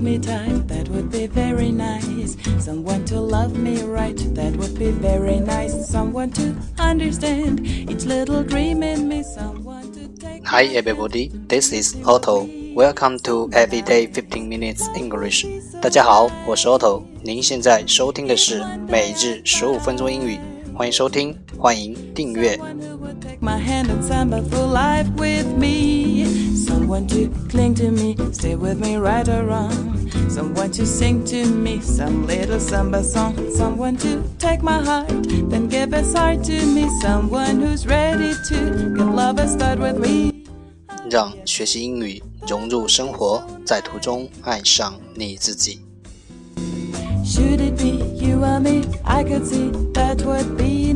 me tight, that would be very nice. Someone to love me right, that would be very nice. Someone to understand each little dream in me. Someone to take. Hi everybody, this is Otto. Welcome to Everyday 15 Minutes English. 大家好，我是 Otto。您现在收听的是每日15分钟英语，欢迎收听，欢迎订阅。 My hand and samba for life with me. Someone to cling to me, stay with me right or wrong. Someone to sing to me some little samba song. Someone to take my heart, then give his heart to me. Someone who's ready to give love a start with me. 让学习英语融入生活，在途中爱上你自己。 Should it be you or me? I could see that would be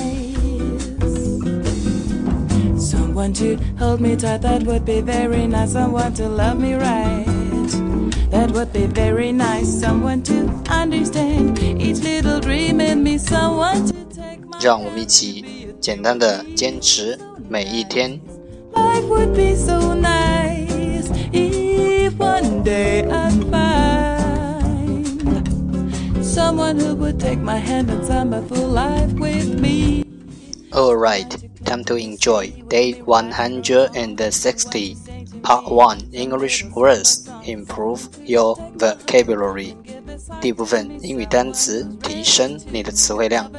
nice.Someone to hold me tight, that would be very nice. Someone to love me right, that would be very nice. Someone to understand each little dream in me. Someone to take my 让我们一起简单的坚持每一天。 Life would be so nice if one day I'd find someone who would take my hand and samba for life with me. Alright.Time to enjoy Day 160, Part 1 English Words Improve your vocabulary 第一部分英语单词提升你的词汇量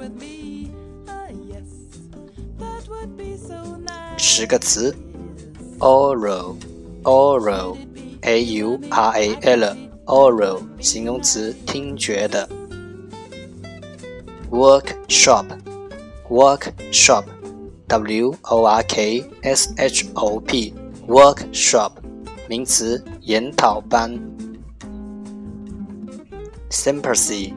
10个词 Oral A-U-R-A-L Oral 形容词听觉的 Workshop W-O-R-K-S-H-O-P Workshop 名词研讨班 Sympathy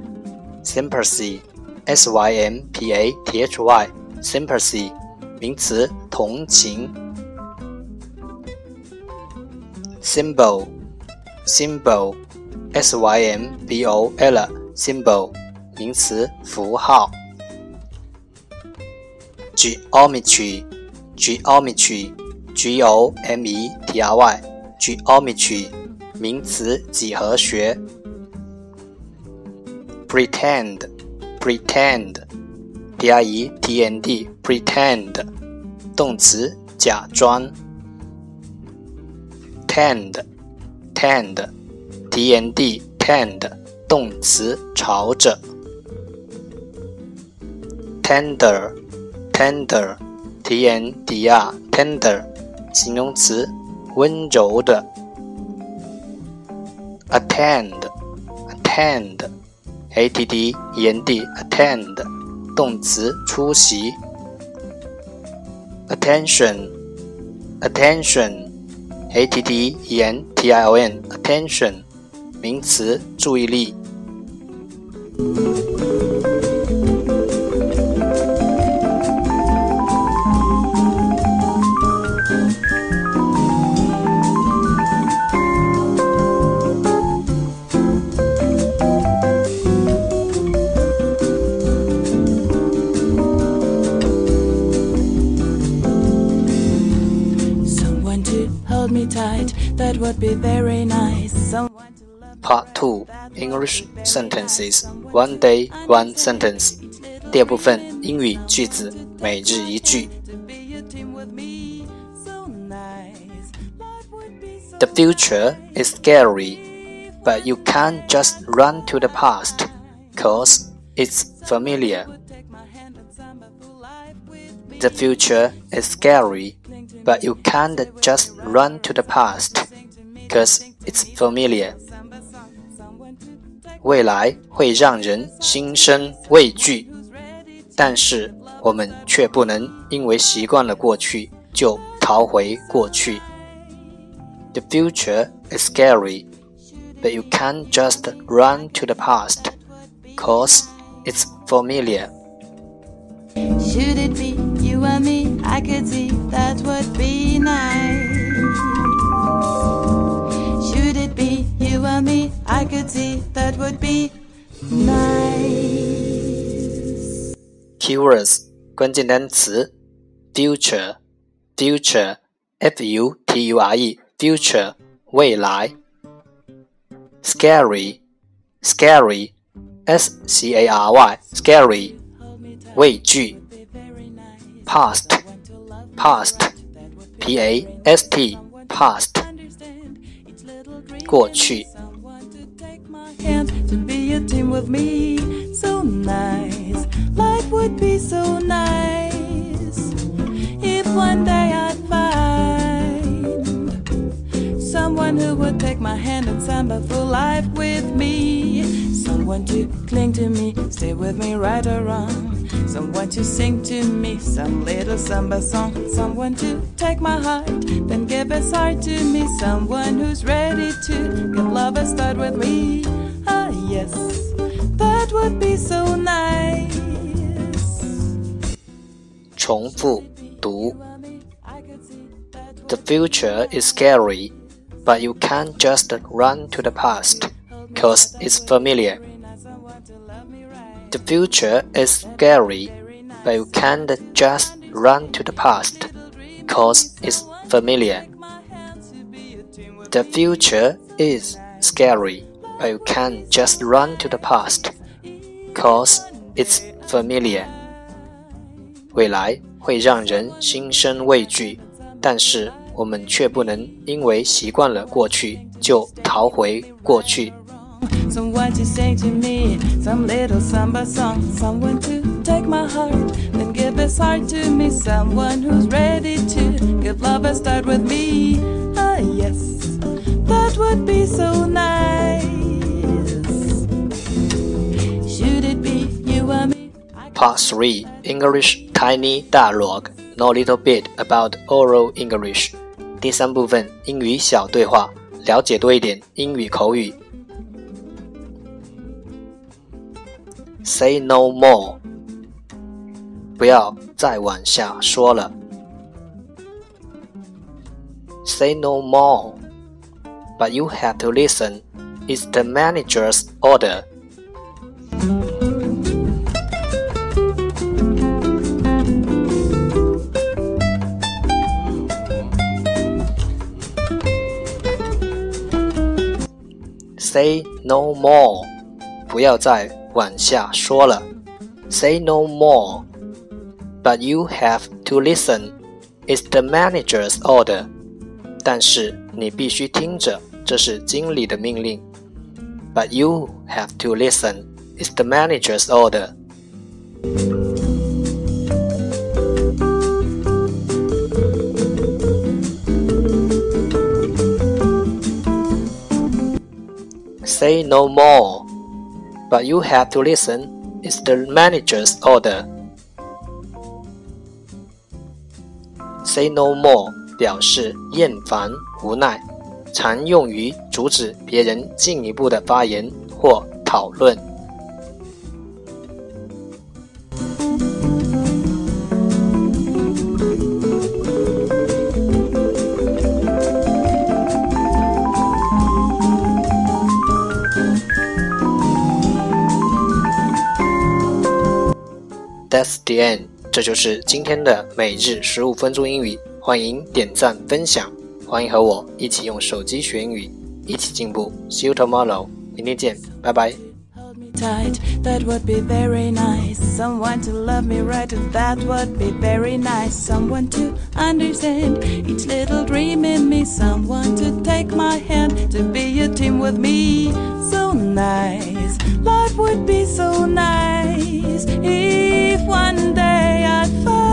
S-Y-M-P-A-T-H-Y Sympathy 名词同情 Symbol S-Y-M-B-O-L Symbol 名词符号Geometry G-O-M-E-T-R-Y Geometry 名词几何学 Pretend P-R-E-T-N-D Pretend 动词假装 Tend T-N-D Tend 动词朝着 Tender T-N-D-R Tender 形容词温柔的 Attend A-T-T-E-N-D Attend 动词出席 Attention A-T-T-E-N-T-I-O-N Attention 名词注意力 me tight, that would be very nice. Someone to love Part 2 English Sentences One Day, One Sentence 第二部分英语句子每日一句 The future is scary, but you can't just run to the past, 'cause it's familiar. The future is scary, but you can't just run to the past, 'cause it's familiar. 未来会让人心生畏惧，但是我们却不能因为习惯了过去就逃回过去。The future is scary, but you can't just run to the past, 'cause it's familiar. Should it be you and me? I could see that would be nice. Should it be you and me? I could see that would be nice. Keywords 关键单词 Future F-U-T-U-R-E Future 未来 scary, scary, S-C-A-R-Y, scary, 畏惧 past, past, P-A-S-T, past, 过去 to be a team with me, so nice. Life would be so nice if one day I'd find someone who would take my hand and samba for life with me. Someone to cling to me, stay with me right or wrong. Someone to sing to me some little samba song. Someone to take my heart, then give his heart to me. Someone who's ready to give love a start with me. Ah yes, that would be so nice. 重复读 The future is scary, but you can't just run to the past, 'cause it's familiar. The future is scary, but you can't just run to the past, 'cause it's familiar. The future is scary, but you can't just run to the past, 'cause it's familiar. 未来会让人心生畏惧，但是我们却不能因为习惯了过去就逃回过去。 Someone to sing to me some little samba song. Someone to take my heart, then give his heart to me. Someone who's ready to give love a start with me. Ah yes, that would be so nice. Should it be you or me? Part 3 English Tiny Dialogue. Know a little bit about oral English. 第3部分英语小对话，了解多一点英语口语。Say no more. 不要再往下说了。Say no more. But you have to listen. It's the manager's order. Say no more. 不要再往下说了。Say no more. But you have to listen. It's the manager's order. 但是你必须听着，这是经理的命令。But you have to listen. It's the manager's order. Say no more. But you have to listen. It's the manager's order. Say no more 表示厌烦、无奈，常用于阻止别人进一步的发言或讨论。That's the end. 这就是今天的每日15分钟英语。欢迎点赞分享，欢迎和我一起用手机学英语，一起进步。See you tomorrow. 明天见，拜拜。 Tight, that would be very nice. Someone to love me right, that would be very nice. Someone to understand each little dream in me. Someone to take my hand, to be a team with me. So nice, life would be so nice if one day I'd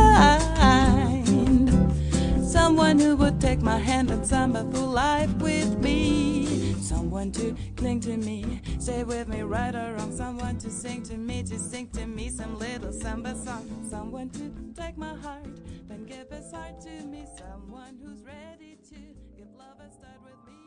find someone who would take my hand and samba through life with me. Someone to cling to me, stay with me right or wrong. Someone to sing to me some little samba song. Someone to take my heart, then give his heart to me. Someone who's ready to give love a start with me.